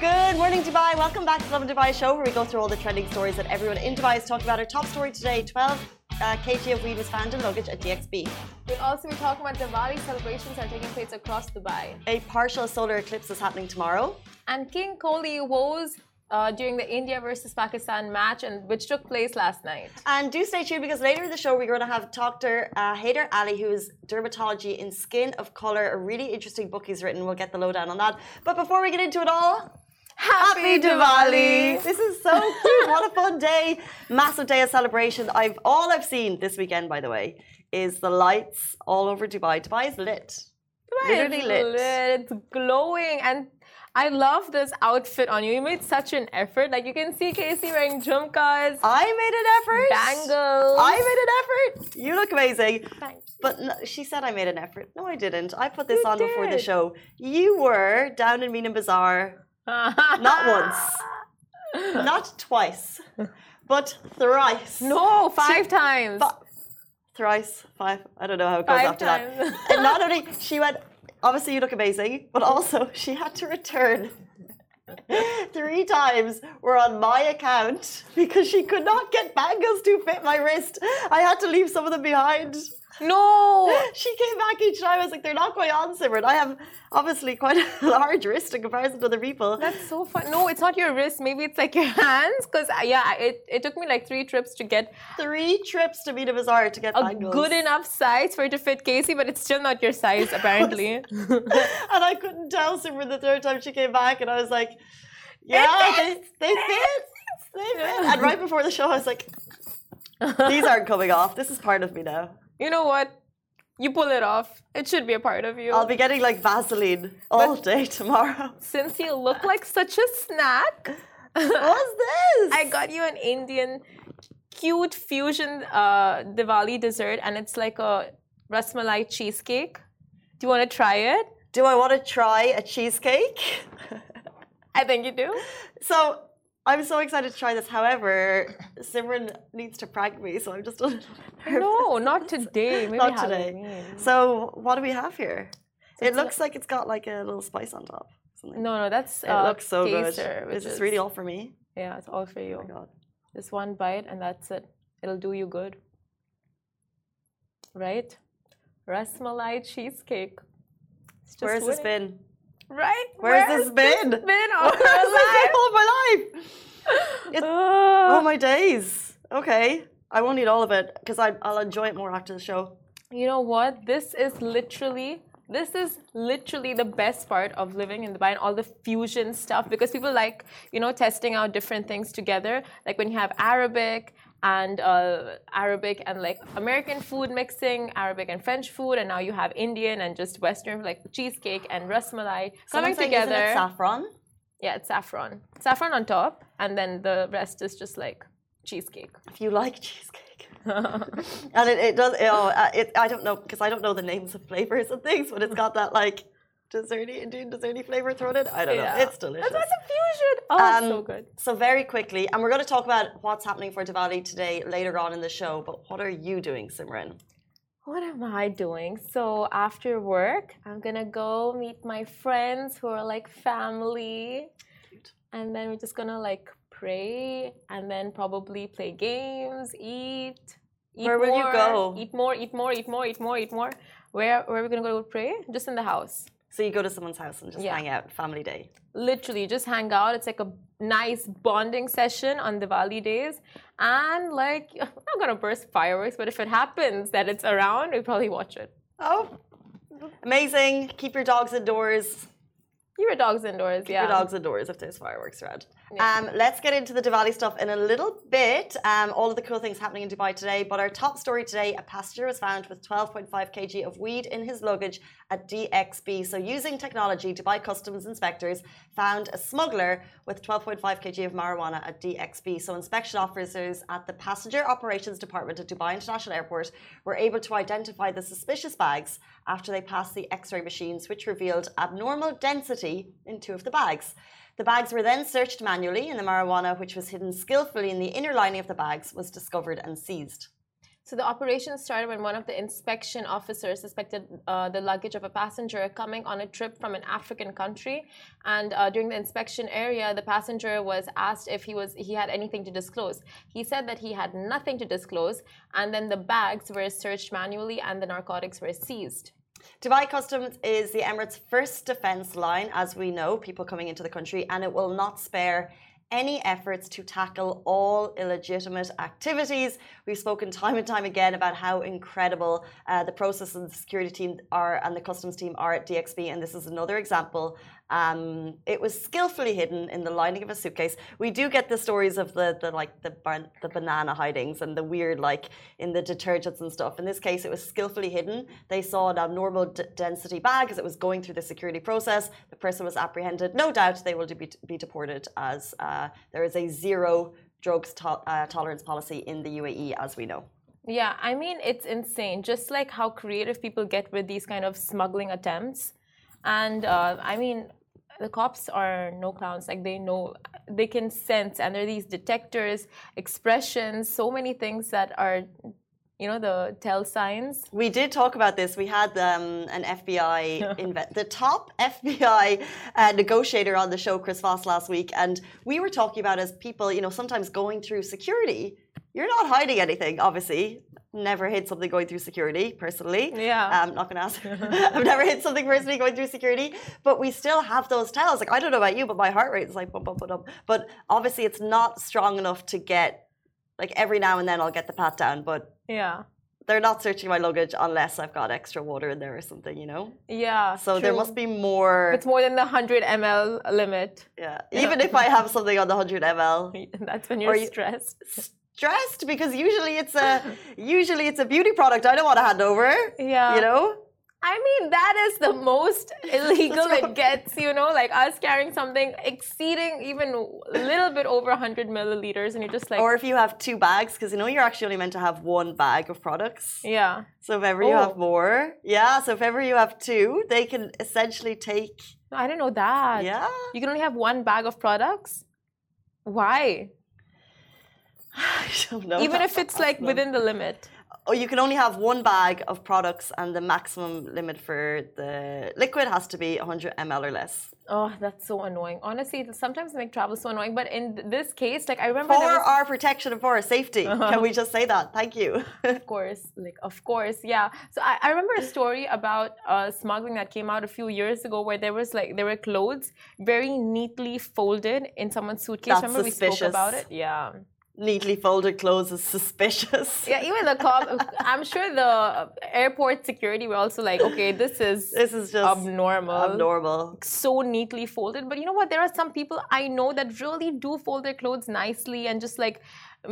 Good morning, Dubai. Welcome back to Lovin Dubai show, where we go through all the trending stories that everyone in Dubai is talking about. Our top story today: 12 kg of weed was found in luggage at DXB. We'll also be talking about Diwali celebrations are taking place across Dubai. A partial solar eclipse is happening tomorrow. And King Kohli woes during the India versus Pakistan match, which took place last night. And do stay tuned, because later in the show we're going to have Dr. Haider Ali, who is dermatology in skin of color. A really interesting book he's written. We'll get the lowdown on that. But before we get into it all, Happy Diwali! This is so cute. What a fun day. Massive day of celebration. All I've seen this weekend, by the way, is the lights all over Dubai. Dubai is lit. Dubai Literally is lit. It's glowing. And I love this outfit on you. You made such an effort. Like, you can see Casey wearing jhumkas. I made an effort. Bangles. I made an effort. You look amazing. Thanks. But no, she said I made an effort. No, I didn't. I put this on before the did. show. You were down in Mina Bazaar. Not once. Not twice. But thrice. No, 5 times. Thrice. 5. I don't know how it goes 5 after times. that. And not only, she went, obviously you look amazing, but also she had to return 3 times were on my account because she could not get bangles to fit my wrist. I had to leave some of them behind. No. She came back each time. I was like, they're not going on, Simran. I have obviously quite a large wrist in comparison to other people. That's so fun. No, it's not your wrist. Maybe it's like your hands. Because, it took me like 3 trips to get 3 trips to Mina Bazaar to get a bangles. good enough size for it to fit Casey, but it's still not your size, apparently. And I couldn't tell Simran the 3rd time she came back. And I was like, yeah, they fit. They fit. And right before the show, I was like, these aren't coming off. This is part of me now. You know what? You pull it off. It should be a part of you. I'll be getting like Vaseline all day tomorrow. Since you look like such a snack, What's this? I got you an Indian cute fusion Diwali dessert, and it's like a rasmalai cheesecake. Do you want to try it? Do I want to try a cheesecake? I think you do. So I'm so excited to try this. However, Simran needs to prank me, so I'm just a little nervous. No, not today. Maybe Not today. Halloween. So what do we have here? It looks like it's got like a little spice on top. Something. No, that's It looks so good. Kesar, Is this really all for me? Yeah, it's all for you. Oh my god. Just one bite and that's it. It'll do you good. Right? Rasmalai cheesecake. It's just Where's this winning. been? Right? Where's this been? Been all Where's our this been life? all my life? Oh my days. Okay. I won't eat all of it because I'll enjoy it more after the show. You know what? This is literally the best part of living in Dubai and all the fusion stuff, because people like, testing out different things together. Like when you have Arabic and like American food mixing, Arabic and French food, and now you have Indian and just Western, like cheesecake and rasmalai coming together. Isn't it saffron? Yeah, it's saffron. Saffron on top, and then the rest is just like cheesecake. If you like cheesecake. And it does, I don't know, because I don't know the names of flavors and things, but it's got that like Indian desserty flavor thrown in. I don't know. It's delicious. That's a fusion. Oh, it's so good. So very quickly, and we're going to talk about what's happening for Diwali today later on in the show, but what are you doing, Simran? What am I doing? So after work, I'm gonna go meet my friends who are like family. Cute. And then we're just gonna like pray and then probably play games, eat Where will you go? Eat more. Where are we gonna go to pray? Just in the house. So you go to someone's house and just hang out, family day. Literally, just hang out. It's like a nice bonding session on Diwali days. And like, I'm not gonna burst fireworks, but if it happens that it's around, we'll probably watch it. Oh, amazing. Keep your dogs indoors. Keep your dogs indoors, Keep your dogs indoors if there's fireworks around. Yeah. Let's get into the Diwali stuff in a little bit. All of the cool things happening in Dubai today. But our top story today, a passenger was found with 12.5 kg of weed in his luggage at DXB. So using technology, Dubai Customs inspectors found a smuggler with 12.5 kg of marijuana at DXB. So inspection officers at the Passenger Operations Department at Dubai International Airport were able to identify the suspicious bags after they passed the X-ray machines, which revealed abnormal density in 2 of the bags. The bags were then searched manually, and the marijuana, which was hidden skillfully in the inner lining of the bags, was discovered and seized. So the operation started when one of the inspection officers suspected the luggage of a passenger coming on a trip from an African country, and during the inspection area, the passenger was asked if he had anything to disclose. He said that he had nothing to disclose, and then the bags were searched manually and the narcotics were seized. Dubai Customs is the Emirates' first defence line, as we know, people coming into the country, and it will not spare any efforts to tackle all illegitimate activities. We've spoken time and time again about how incredible the process and the security team are and the customs team are at DXB, and this is another example. It was skillfully hidden in the lining of a suitcase. We do get the stories of the banana hidings and the weird, like in the detergents and stuff. In this case, it was skillfully hidden. They saw an abnormal density bag as it was going through the security process. The person was apprehended. No doubt they will be deported, as there is a zero drugs tolerance policy in the UAE, as we know. Yeah, I mean, it's insane. Just like how creative people get with these kind of smuggling attempts. And I mean, the cops are no clowns. Like, they know, they can sense, and there are these detectors, expressions, so many things that are, you know, the tell signs. We did talk about this. We had an FBI, the top FBI negotiator on the show, Chris Voss, last week. And we were talking about, as people, you know, sometimes going through security, you're not hiding anything, obviously. Never hid something going through security, personally. Yeah. I'm not going to ask. I've never hid something personally going through security. But we still have those tells. Like, I don't know about you, but my heart rate is like bump, bump, bump, bump. But obviously, it's not strong enough to get, like, every now and then I'll get the pat down. But yeah, they're not searching my luggage unless I've got extra water in there or something, you know? Yeah. So true. there must be more. It's more than the 100 ml limit. Yeah. Even if I have something on the 100 ml. That's when you're stressed. Stressed, because usually it's a beauty product I don't want to hand over. Yeah. You know? I mean, that is the most illegal it gets, you know, like us carrying something exceeding even a little bit over 100 milliliters, and you're just like... Or if you have two bags, because, you know, you're actually only meant to have one bag of products. Yeah. So if ever you have more, so if ever you have two, they can essentially take... I didn't know that. Yeah. You can only have one bag of products? Why? I don't know. Even if it's like within the limit. Oh, you can only have one bag of products, and the maximum limit for the liquid has to be 100 ml or less. Oh, that's so annoying. Honestly, sometimes make travel so annoying. But in this case, like, I remember for our protection and for our safety. Can we just say that? Thank you. Of course, yeah. So I remember a story about smuggling that came out a few years ago, where there were clothes very neatly folded in someone's suitcase. That's remember suspicious. We spoke about it? Yeah. Neatly folded clothes is suspicious. Yeah, even the cop. I'm sure the airport security were also like, okay, this is just abnormal. So neatly folded. But you know what? There are some people I know that really do fold their clothes nicely and just like,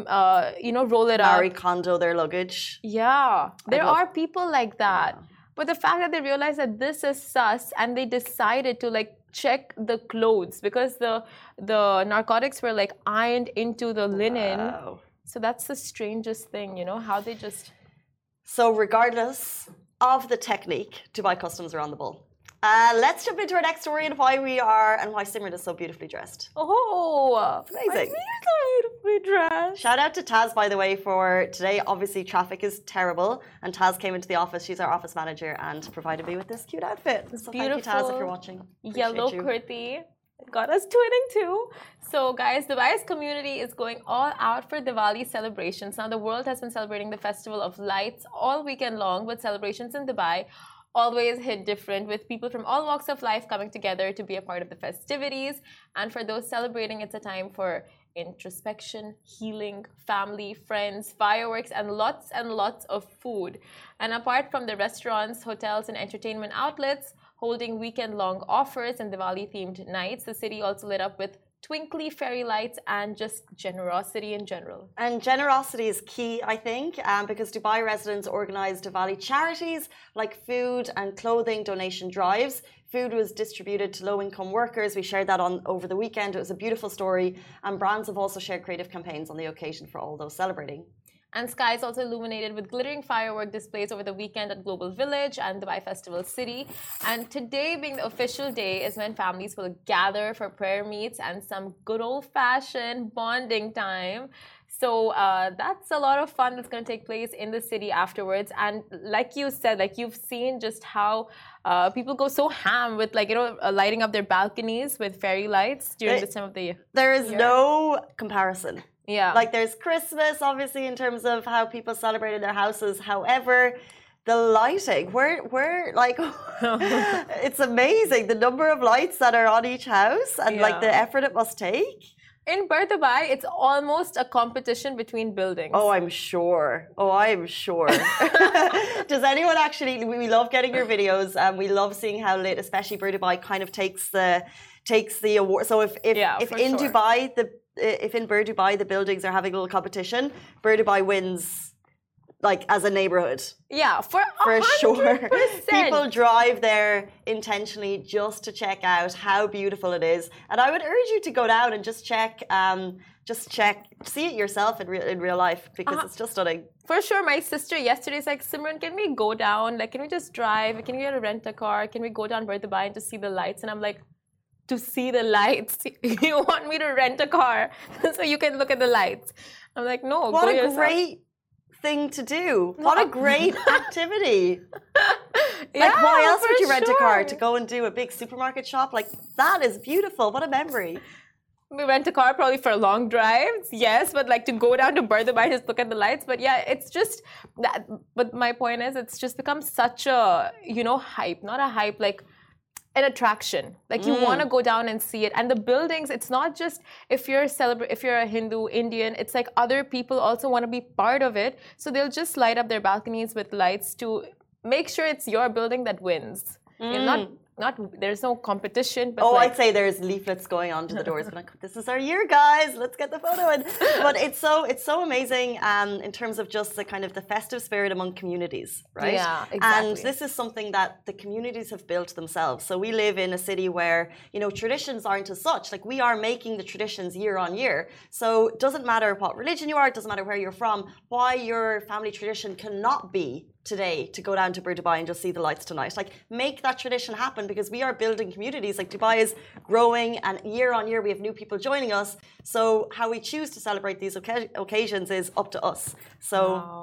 roll it up. Marie Kondo their luggage. Yeah, there are people like that. Yeah. But the fact that they realized that this is sus, and they decided to like check the clothes, because the narcotics were like ironed into the linen. Wow. So that's the strangest thing, you know, how they just... So regardless of the technique, Dubai Customs are on the ball. Let's jump into our next story and why Simran is so beautifully dressed. Oh, amazing. I'm so beautifully dressed. Shout out to Taz, by the way, for today. Obviously, traffic is terrible, and Taz came into the office. She's our office manager and provided me with this cute outfit. So beautiful. Thank you, Taz, if you're watching. Yellow kurti. Got us twinning too. So guys, Dubai's community is going all out for Diwali celebrations. Now, the world has been celebrating the Festival of Lights all weekend long, but celebrations in Dubai always hit different, with people from all walks of life coming together to be a part of the festivities. And for those celebrating, it's a time for introspection, healing, family, friends, fireworks, and lots of food. And apart from the restaurants, hotels, and entertainment outlets holding weekend-long offers and Diwali-themed nights, the city also lit up with twinkly fairy lights and just generosity in general. And generosity is key, I think, because Dubai residents organised Diwali charities like food and clothing donation drives. Food was distributed to low-income workers. We shared that over the weekend. It was a beautiful story. And brands have also shared creative campaigns on the occasion for all those celebrating. And skies also illuminated with glittering firework displays over the weekend at Global Village and Dubai Festival City. And today, being the official day, is when families will gather for prayer meets and some good old-fashioned bonding time. So that's a lot of fun that's going to take place in the city afterwards. And like you said, like you've seen just how people go so ham with lighting up their balconies with fairy lights during this time of the year. There is no comparison. Yeah. Like there's Christmas, obviously, in terms of how people celebrate in their houses. However, the lighting, we're like, it's amazing the number of lights that are on each house and like the effort it must take. In Dubai, it's almost a competition between buildings. Oh, I'm sure. Does anyone actually? We love getting your videos, and we love seeing how lit, especially Dubai, kind of takes the award. So if in Dubai if in Dubai the buildings are having a little competition, Dubai wins. Like as a neighborhood. Yeah, for 100%. Sure. People drive there intentionally just to check out how beautiful it is. And I would urge you to go down and just check, see it yourself in real life because it's just stunning. For sure. My sister yesterday is like, Simran, can we go down? Like, can we just drive? Can we get a rent a car? Can we go down Dubai and to see the lights? And I'm like, to see the lights? You want me to rent a car so you can look at the lights? I'm like, no, what go a yourself. Great thing to do. What a great activity. Like why else would you rent a car? To go and do a big supermarket shop? Like that is beautiful. What a memory. We rent a car probably for long drives, yes, but like to go down to Dubai, just look at the lights. But yeah, it's just that. But my point is, it's just become such a, hype, not a hype, like an attraction. Like you want to go down and see it. And the buildings, it's not just if you're a Hindu, Indian, it's like other people also want to be part of it. So they'll just light up their balconies with lights to make sure it's your building that wins. Not there's no competition. But I'd say there's leaflets going on to the doors. Like, this is our year, guys. Let's get the photo in. But it's so amazing in terms of just the kind of the festive spirit among communities, right? Yeah, exactly. And this is something that the communities have built themselves. So we live in a city where traditions aren't as such. Like we are making the traditions year on year. So it doesn't matter what religion you are. It doesn't matter where you're from. Why your family tradition cannot be today to go down to Dubai and just see the lights tonight. Like make that tradition happen because we are building communities. Like Dubai is growing and year on year we have new people joining us. So how we choose to celebrate these occasions is up to us. So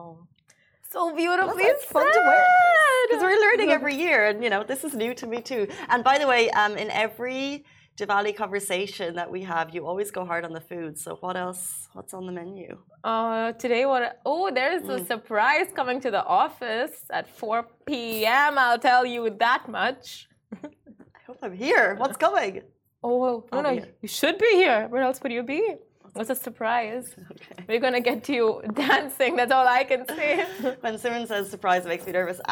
so beautifully it's fun to wear because we're learning every year and this is new to me too. And by the way, in every Diwali conversation that we have, you always go hard on the food. So what else? What's on the menu? Today, there's a surprise coming to the office at 4 p.m. I'll tell you that much. I hope I'm here. What's coming? Oh, no, you should be here. Where else would you be? What's a surprise? Okay. We're going to get you dancing. That's all I can say. When Simran says surprise, it makes me nervous.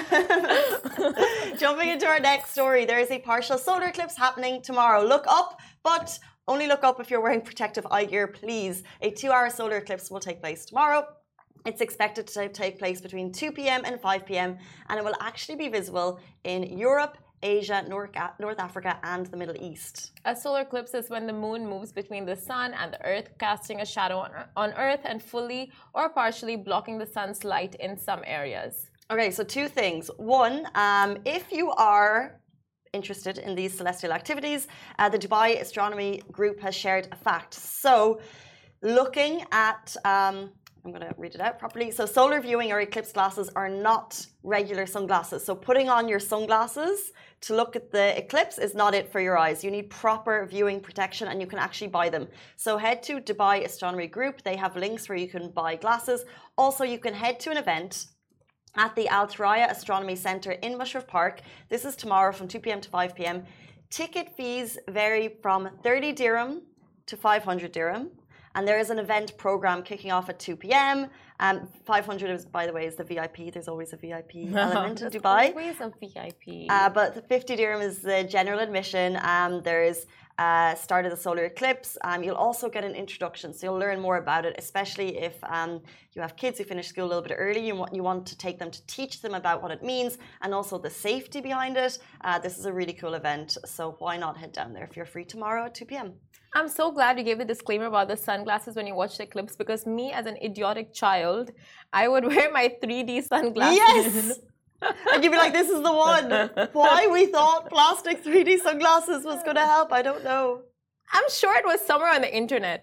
Jumping into our next story, there is a partial solar eclipse happening tomorrow. Look up, but only look up if you're wearing protective eye gear, please. A 2-hour solar eclipse will take place tomorrow. It's expected to take place between 2 p.m. and 5 p.m. and it will actually be visible in Europe, Asia, North Africa, and the Middle East. A solar eclipse is when the moon moves between the sun and the earth, casting a shadow on earth and fully or partially blocking the sun's light in some areas. Okay, so two things. One, if you are interested in these celestial activities, the Dubai Astronomy Group has shared a fact. So looking at... I'm going to read it out properly. So solar viewing or eclipse glasses are not regular sunglasses. So putting on your sunglasses to look at the eclipse is not it for your eyes. You need proper viewing protection and you can actually buy them. So head to Dubai Astronomy Group. They have links where you can buy glasses. Also, you can head to an event at the Al Thuraya Astronomy Centre in Mushrif Park. This is tomorrow from 2 p.m. to 5 p.m. Ticket fees vary from 30 dirham to 500 dirham. And there is an event program kicking off at 2 p.m. 500 is, by the way, is the VIP. There's always a VIP element in Dubai. Always a VIP. But the 50 dirham is the general admission. There is start of the solar eclipse. You'll also get an introduction, so you'll learn more about it, especially if you have kids who finish school a little bit early. You want to take them to teach them about what it means and also the safety behind it. This is a really cool event, so why not head down there if you're free tomorrow at 2 p.m. I'm so glad you gave the disclaimer about the sunglasses when you watch the eclipse, because me as an idiotic child, I would wear my 3D sunglasses. Yes! And you'd be like, this is the one. Why we thought plastic 3D sunglasses was going to help, I don't know. I'm sure it was somewhere on the internet.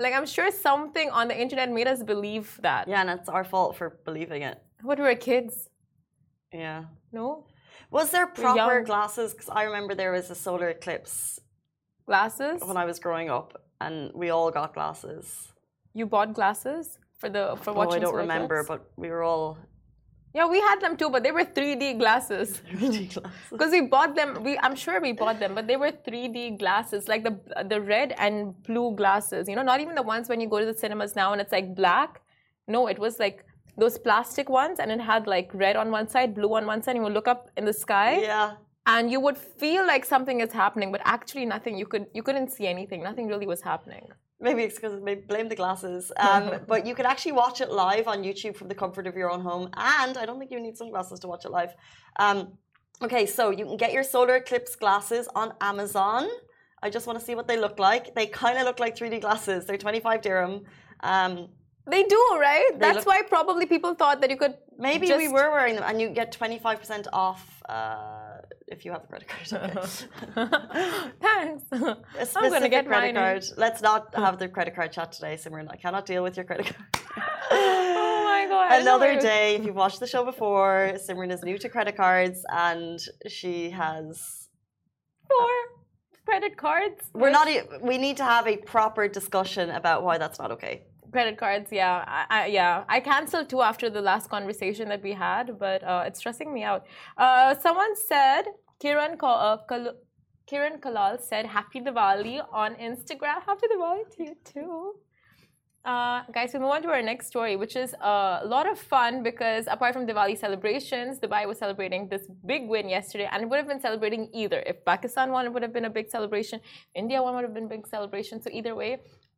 Like, I'm sure something on the internet made us believe that. Yeah, and it's our fault for believing it. What, we were kids? Yeah. No? Was there proper young. glasses? Because I remember there was a solar eclipse Glasses? when I was growing up, and we all got glasses. You bought glasses for watching? I don't solar remember, eclipse? but we were all Yeah, we had them too, but they were 3D glasses. 3D glasses. Because we bought them, I'm sure we bought them, but they were 3D glasses, like the red and blue glasses. You know, not even the ones when you go to the cinemas now and it's like black. No, it was like those plastic ones, and it had like red on one side, blue on one side. And you would look up in the sky, Yeah. and you would feel like something is happening, but actually nothing. You couldn't see anything. Nothing really was happening. Maybe it's because blame the glasses. But you could actually watch it live on YouTube from the comfort of your own home. And I don't think you need sunglasses to watch it live. Okay, so you can get your solar eclipse glasses on Amazon. I just want to see what they look like. They kind of look like 3D glasses. They're 25 dirham. They do, right? They That's why probably people thought that you could. Maybe we were wearing them, and you get 25% off if you have a credit card. Okay. Thanks. A I'm going to get credit mine. card. Let's not have the credit card chat today, Simran. I cannot deal with your credit card. Oh my god. Another day, if you've watched the show before, Simran is new to credit cards and she has 4 credit cards. we need to have a proper discussion about why that's not okay. Credit cards, yeah. I canceled 2 after the last conversation that we had, but it's stressing me out. Someone said, Kiran Kalal said, Happy Diwali on Instagram. Happy Diwali to you too. Guys, we move on to our next story, which is a lot of fun because apart from Diwali celebrations, Dubai was celebrating this big win yesterday, and it would have been celebrating either. If Pakistan won, it would have been a big celebration. India won, would have been a big celebration. So either way,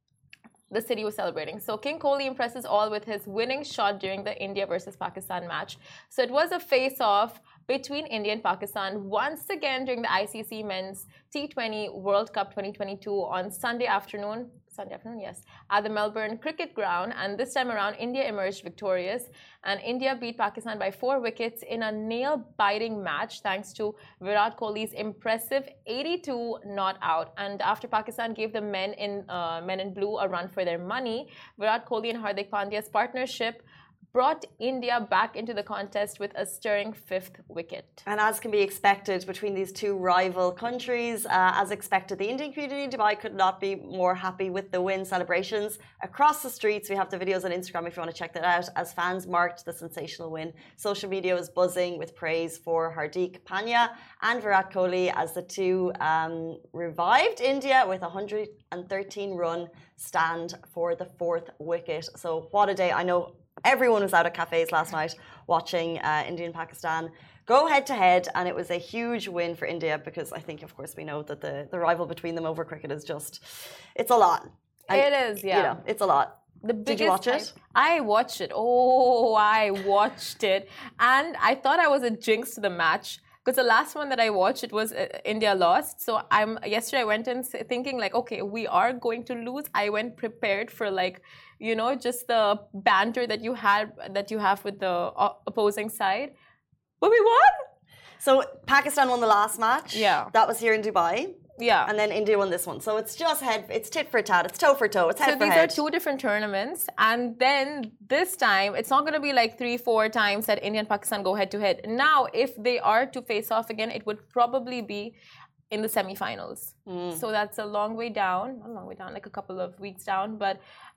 the city was celebrating. So King Kohli impresses all with his winning shot during the India versus Pakistan match. So it was a face-off between India and Pakistan once again during the ICC Men's T20 World Cup 2022 on Sunday afternoon, yes, at the Melbourne Cricket Ground. And this time around, India emerged victorious, and India beat Pakistan by 4 wickets in a nail-biting match thanks to Virat Kohli's impressive 82 not out. And after Pakistan gave the men in blue a run for their money, Virat Kohli and Hardik Pandya's partnership brought India back into the contest with a stirring 5th wicket. And as can be expected between these two rival countries, as expected, the Indian community in Dubai could not be more happy with the win celebrations. Across the streets, we have the videos on Instagram if you want to check that out, as fans marked the sensational win. Social media was buzzing with praise for Hardik Pandya and Virat Kohli as the two revived India with a 113-run stand for the 4th wicket. So what a day. I know everyone was out at cafes last night watching India and Pakistan go head to head, and it was a huge win for India because I think, of course, we know that the rival between them over cricket is just, it's a lot. And, it is, yeah. You know, it's a lot. Did you watch it? I watched it. Oh, I watched it. And I thought I was a jinx to the match. Because the last one that I watched, it was India lost. So yesterday I went in thinking like, okay, we are going to lose. I went prepared for like, you know, just the banter that you have with the opposing side. But we won. So Pakistan won the last match. Yeah. That was here in Dubai. Yeah. And then India won this one. So it's just it's tit for tat, it's toe for toe, it's head for head. So these are 2 different tournaments. And then this time, it's not going to be like 3-4 times that India and Pakistan go head to head. Now, if they are to face off again, it would probably be in the semi-finals. So that's a long way down. Not a long way down, like a couple of weeks down. But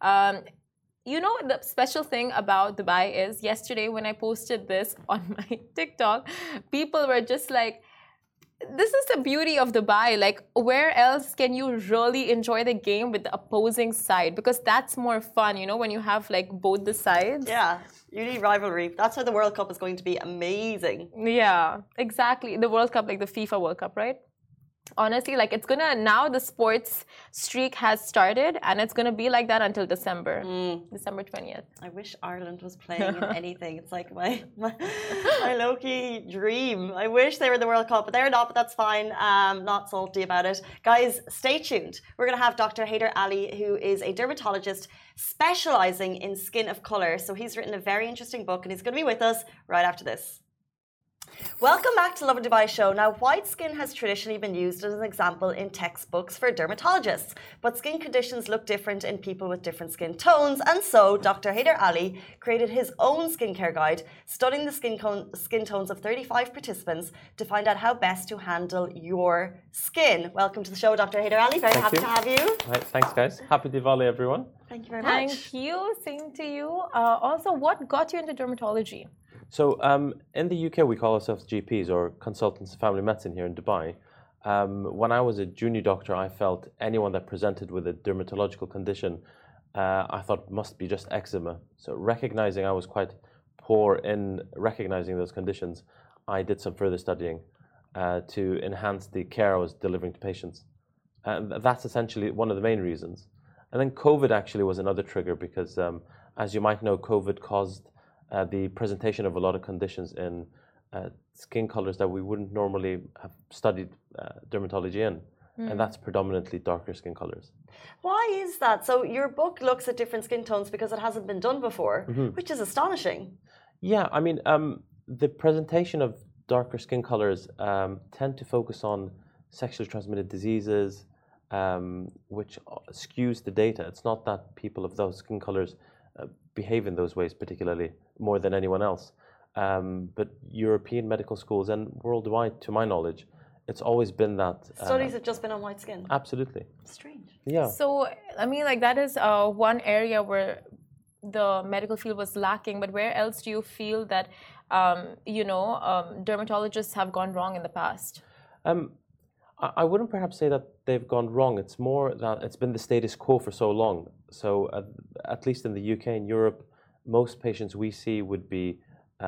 you know, the special thing about Dubai is yesterday when I posted this on my TikTok, people were just like, this is the beauty of Dubai. Like, where else can you really enjoy the game with the opposing side? Because that's more fun, you know, when you have like both the sides. Yeah, you need rivalry. That's why the World Cup is going to be amazing. Yeah, exactly. The World Cup, like the FIFA World Cup, right? Honestly, like it's gonna, now the sports streak has started and it's gonna be like that until December 20th. I wish Ireland was playing in anything. It's like my low-key dream. I wish they were in the World Cup, but they're not, but that's fine. Not salty about it. Guys, stay tuned. We're gonna have Dr. Haider Ali, who is a dermatologist specializing in skin of color. So he's written a very interesting book and he's gonna be with us right after this. Welcome back to Lovin Dubai show. Now, white skin has traditionally been used as an example in textbooks for dermatologists, but skin conditions look different in people with different skin tones, and so Dr. Haider Ali created his own skincare guide, studying the skin tones of 35 participants to find out how best to handle your skin. Welcome to the show, Dr. Haider Ali. Very happy to have you. Right, thanks, guys. Happy Diwali, everyone. Thank you very much. Thank you. Same to you. Also, what got you into dermatology? So, in the UK, we call ourselves GPs or consultants of family medicine here in Dubai. When I was a junior doctor, I felt anyone that presented with a dermatological condition, I thought must be just eczema. So, recognizing I was quite poor in recognizing those conditions, I did some further studying to enhance the care I was delivering to patients. And that's essentially one of the main reasons. And then COVID actually was another trigger because, as you might know, COVID caused the presentation of a lot of conditions in skin colors that we wouldn't normally have studied dermatology in. And that's predominantly darker skin colors. Why is that? So your book looks at different skin tones because it hasn't been done before, which is astonishing. Yeah, I mean, the presentation of darker skin colors tend to focus on sexually transmitted diseases, which skews the data. It's not that people of those skin colors behave in those ways particularly more than anyone else. But European medical schools and worldwide, to my knowledge, it's always been that. Studies have just been on white skin. Absolutely. Strange. Yeah. So, I mean, like that is one area where the medical field was lacking, but where else do you feel that, dermatologists have gone wrong in the past? I wouldn't perhaps say that they've gone wrong. It's more that it's been the status quo for so long. So at least in the UK and Europe, most patients we see would be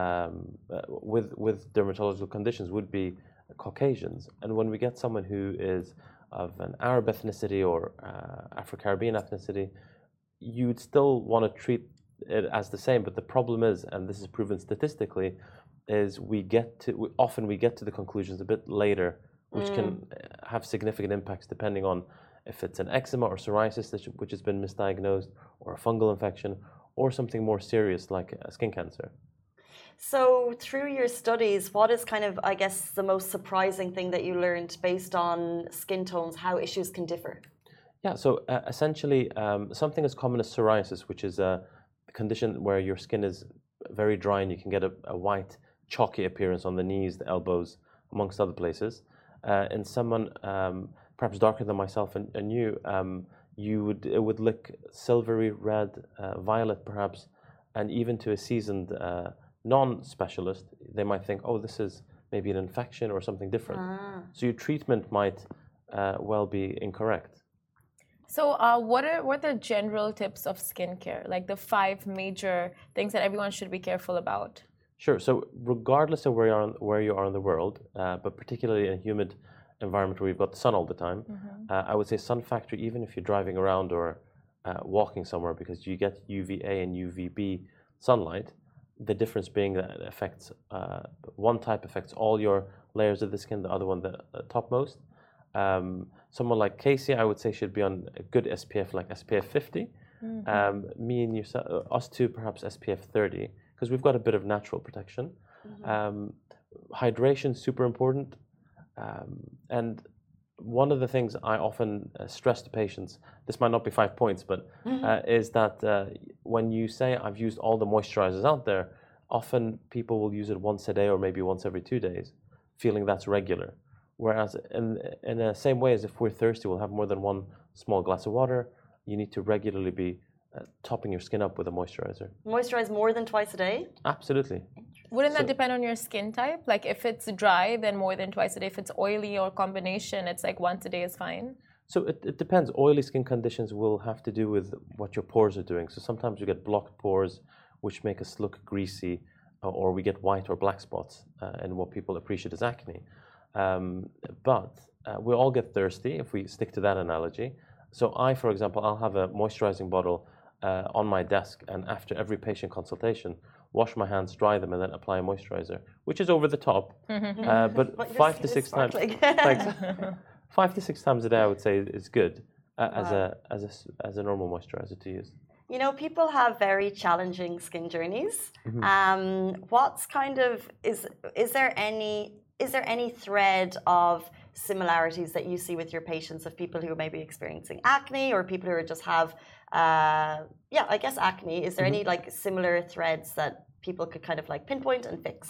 with dermatological conditions would be Caucasians. And when we get someone who is of an Arab ethnicity or Afro-Caribbean ethnicity, you'd still want to treat it as the same. But the problem is, and this is proven statistically, is often we get to the conclusions a bit later, which can have significant impacts depending on if it's an eczema or psoriasis which has been misdiagnosed, or a fungal infection, or something more serious like skin cancer. So through your studies, what is kind of, I guess, the most surprising thing that you learned based on skin tones, how issues can differ? Yeah, so essentially something as common as psoriasis, which is a condition where your skin is very dry and you can get a white, chalky appearance on the knees, the elbows, amongst other places. In someone perhaps darker than myself and you, it would look silvery red, violet perhaps, and even to a seasoned non-specialist, they might think, oh, this is maybe an infection or something different. So your treatment might well be incorrect. So what are the general tips of skincare, like the 5 major things that everyone should be careful about? Sure. So regardless of where you are in the world, but particularly in a humid environment where you've got the sun all the time, I would say sun factor, even if you're driving around or walking somewhere, because you get UVA and UVB sunlight, the difference being that it affects, one type affects all your layers of the skin, the other one the topmost. Someone like Casey, I would say, should be on a good SPF like SPF 50. Me and us two, perhaps SPF 30. Because we've got a bit of natural protection. Hydration is super important. And one of the things I often stress to patients, this might not be 5 points, but is that when you say I've used all the moisturizers out there, often people will use it once a day or maybe once every 2 days, feeling that's regular. Whereas in the same way as if we're thirsty, we'll have more than one small glass of water, you need to regularly be topping your skin up with a moisturizer. Moisturize more than twice a day? Absolutely. Wouldn't that depend on your skin type? Like if it's dry, then more than twice a day. If it's oily or combination, it's like once a day is fine. So it depends. Oily skin conditions will have to do with what your pores are doing. So sometimes you get blocked pores, which make us look greasy, or we get white or black spots, and what people appreciate as acne. But we all get thirsty if we stick to that analogy. So for example, I'll have a moisturizing bottle on my desk, and after every patient consultation, wash my hands, dry them, and then apply a moisturizer, which is over the top. But 5 to 6 times, thanks. 5 to 6 times a day, I would say, is good as a normal moisturizer to use. You know, people have very challenging skin journeys. What's kind of is there any thread of similarities that you see with your patients of people who may be experiencing acne or people who just have I guess acne? Is there any like similar threads that people could kind of like pinpoint and fix?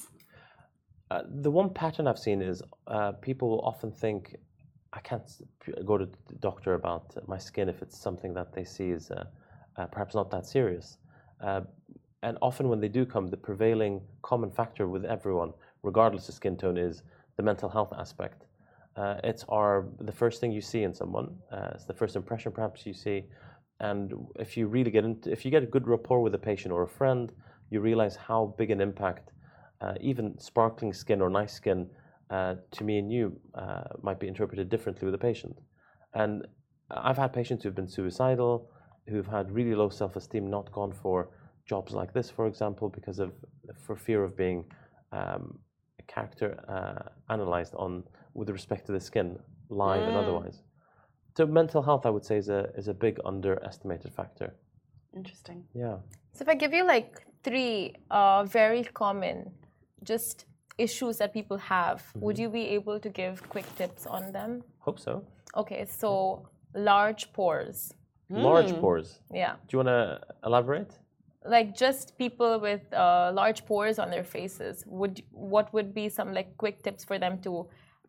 The one pattern I've seen is people often think I can't go to the doctor about my skin if it's something that they see is perhaps not that serious. And often when they do come, the prevailing common factor with everyone, regardless of skin tone, is the mental health aspect. It's the first thing you see in someone. It's the first impression perhaps you see. And if you really if you get a good rapport with a patient or a friend, you realize how big an impact even sparkling skin or nice skin to me and you might be interpreted differently with a patient. And I've had patients who've been suicidal, who've had really low self-esteem, not gone for jobs like this, for example, for fear of being character analyzed with respect to the skin, live and otherwise. So mental health, I would say, is a big underestimated factor. Interesting. Yeah. So if I give you like 3 very common just issues that people have, would you be able to give quick tips on them? Hope so. Okay, so large pores. Large pores. Yeah. Do you want to elaborate? Like just people with large pores on their faces. What would be some like quick tips for them to,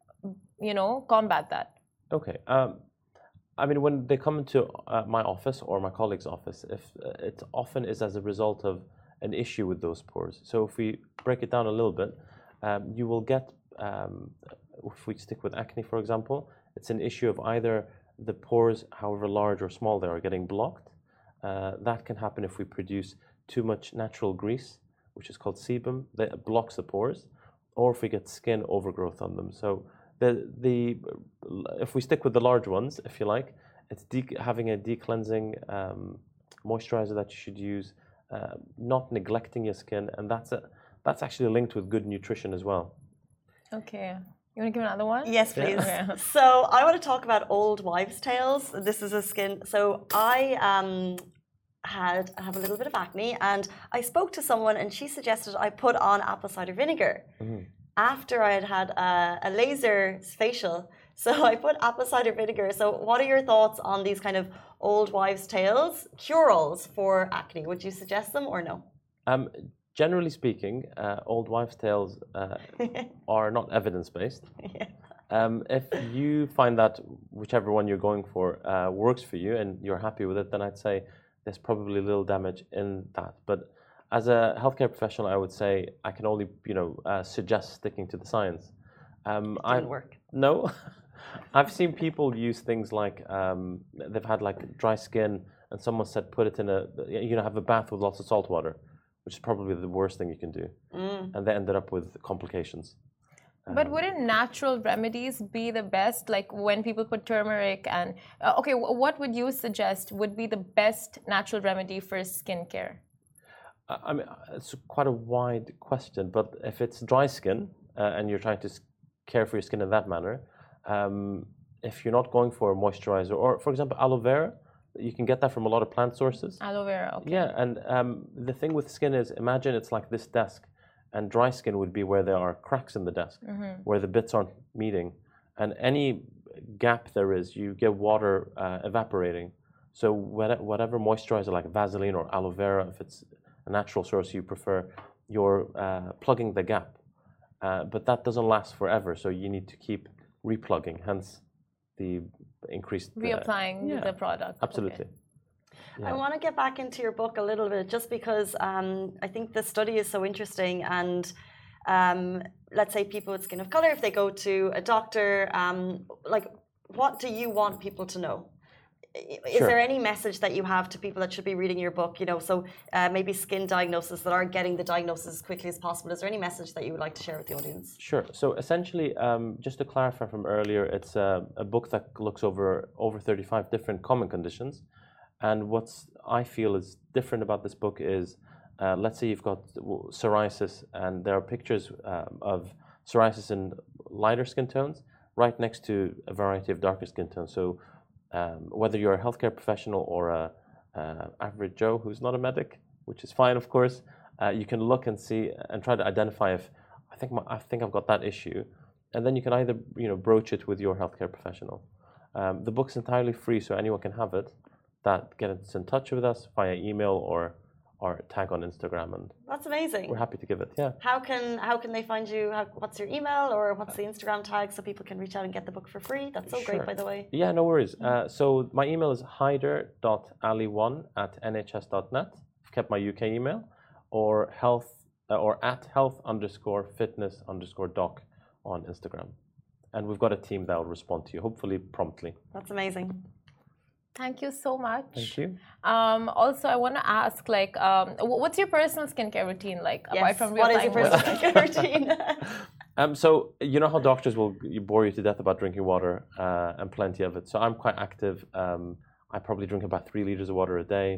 combat that? Okay. I mean, when they come into my office or my colleague's office, if it often is as a result of an issue with those pores. So if we break it down a little bit, you will get, if we stick with acne, for example, it's an issue of either the pores, however large or small they are, getting blocked. That can happen if we produce too much natural grease, which is called sebum, that blocks the pores, or if we get skin overgrowth on them. So if we stick with the large ones, if you like, it's having a decleansing moisturizer that you should use, not neglecting your skin, and that's actually linked with good nutrition as well. Okay. You want to give another one? Yes, please. Okay. So I want to talk about old wives' tales. This is a skin. So I have a little bit of acne, and I spoke to someone, and she suggested I put on apple cider vinegar after I had a laser facial. So I put apple cider vinegar. So what are your thoughts on these kind of old wives' tales, cure-alls for acne? Would you suggest them or no? Generally speaking, old wives' tales are not evidence-based. If you find that whichever one you're going for works for you and you're happy with it, then I'd say there's probably little damage in that. But as a healthcare professional, I would say I can only, suggest sticking to the science. Didn't work. No, I've seen people use things like they've had like dry skin, and someone said put it in have a bath with lots of salt water, which is probably the worst thing you can do, and they ended up with complications. But wouldn't natural remedies be the best? Like when people put turmeric and what would you suggest would be the best natural remedy for skincare? I mean, it's quite a wide question, but if it's dry skin and you're trying to care for your skin in that manner, if you're not going for a moisturizer, or for example, aloe vera, you can get that from a lot of plant sources. Aloe vera, okay. Yeah, and the thing with skin is, imagine it's like this desk, and dry skin would be where there are cracks in the desk, where the bits aren't meeting, and any gap there is, you get water evaporating. So whatever moisturizer like Vaseline or aloe vera, if it's a natural source you prefer, you're plugging the gap. But that doesn't last forever, so you need to keep replugging, hence the increased... Reapplying the product. Absolutely. Okay. I want to get back into your book a little bit, just because I think the study is so interesting. And let's say people with skin of color, if they go to a doctor, what do you want people to know? Is there any message that you have to people that should be reading your book? So maybe skin diagnosis that are getting the diagnosis as quickly as possible. Is there any message that you would like to share with the audience? Sure. So essentially, just to clarify from earlier, it's a book that looks over 35 different common conditions. And what I feel is different about this book is, let's say you've got psoriasis, and there are pictures of psoriasis in lighter skin tones right next to a variety of darker skin tones. So whether you're a healthcare professional or average Joe who's not a medic, which is fine, of course. You can look and see and try to identify if I think I've got that issue, and then you can either broach it with your healthcare professional. The book's entirely free, so anyone can have it. Get in touch with us via email or tag on Instagram, and that's amazing. We're happy to give it. Yeah. How can they find you? What's your email or what's the Instagram tag so people can reach out and get the book for free? That's so great, by the way. Yeah, no worries. So my email is haider.ali1@nhs.net. I've kept my UK email, or @health_fitness_doc on Instagram, and we've got a team that will respond to you, hopefully promptly. That's amazing. Thank you so much. Thank you. Also, I want to ask, what's your personal skincare routine like? Yes. Apart from what is your personal skincare routine? So you know how doctors will bore you to death about drinking water, and plenty of it. So I'm quite active. I probably drink about 3 liters of water a day.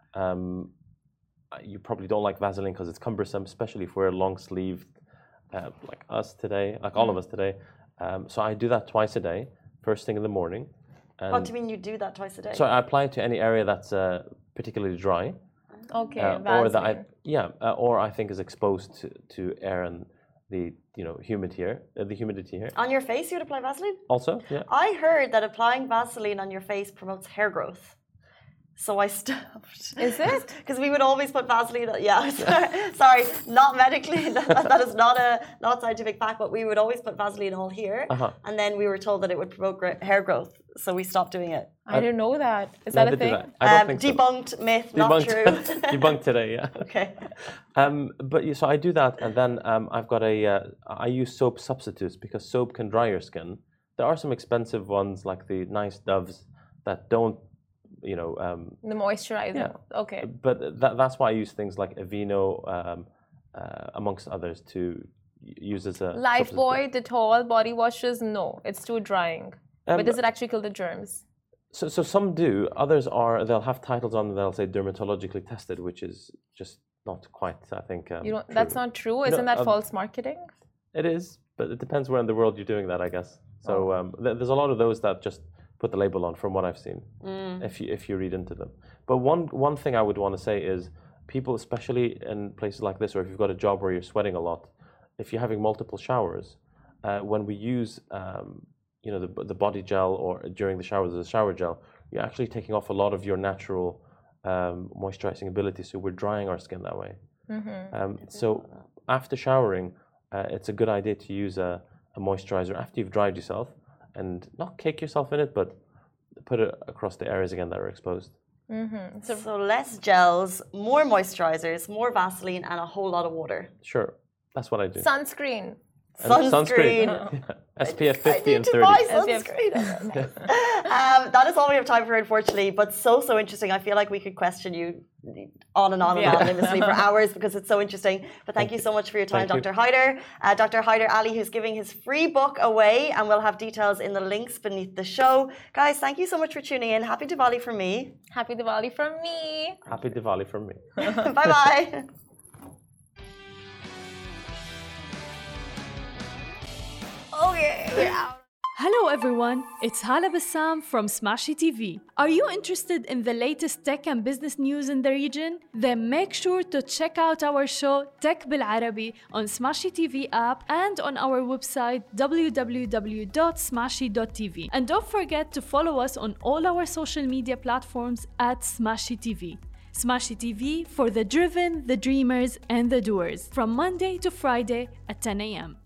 You probably don't like Vaseline because it's cumbersome, especially if we're long-sleeved, like us today, like all of us today. So I do that twice a day, first thing in the morning. What do you mean you do that twice a day? So I apply it to any area that's particularly dry. Okay, or that or I think is exposed to air and the humidity here. On your face, you would apply Vaseline? Also, yeah. I heard that applying Vaseline on your face promotes hair growth. So I stopped. Is it? Because we would always put Vaseline. Yeah, sorry, not medically. That is not scientific fact, but we would always put Vaseline all here, and then we were told that it would promote hair growth. So we stopped doing it. I didn't know that. Is that a thing? I don't think debunked so. myth, not true. Debunked today, yeah. Okay. But so I do that, and then I've got I use soap substitutes because soap can dry your skin. There are some expensive ones like the nice Doves that don't. The moisturizer. Yeah. Okay. But that's why I use things like Aveeno, amongst others, to use as a Lifebuoy, Dettol, body washes. No, it's too drying. But does it actually kill the germs? So some do. Others they'll have titles on them. They'll say dermatologically tested, which is just not quite. I think. That's not true. Isn't that false marketing? It is, but it depends where in the world you're doing that, I guess. So there's a lot of those that just put the label on, from what I've seen, if you read into them. But one thing I would want to say is, people, especially in places like this, or if you've got a job where you're sweating a lot, if you're having multiple showers, when we use the body gel, or during the showers, the shower gel, you're actually taking off a lot of your natural moisturizing ability. So we're drying our skin that way. So after showering, it's a good idea to use a moisturizer after you've dried yourself, and not cake yourself in it, but put it across the areas again that are exposed. So less gels, more moisturizers, more Vaseline, and a whole lot of water. Sure, that's what I do. Sunscreen. Sunscreen. SPF 50 I need and to 30. buy sunscreen. That is all we have time for, unfortunately, but so interesting. I feel like we could question you on and anonymously for hours, because it's so interesting. But thank you so much for your time, Dr. Haider. Dr. Haider Ali, who's giving his free book away, and we'll have details in the links beneath the show. Guys, thank you so much for tuning in. Happy Diwali from me. Happy Diwali from me. Happy Diwali from me. Bye-bye. Okay, we're out. Hello everyone, it's Hala Bassam from Smashy TV. Are you interested in the latest tech and business news in the region? Then make sure to check out our show Tech Bil Arabi on Smashy TV app and on our website www.smashy.tv. And don't forget to follow us on all our social media platforms @Smashy TV. Smashy TV for the driven, the dreamers, and the doers, from Monday to Friday at 10 a.m.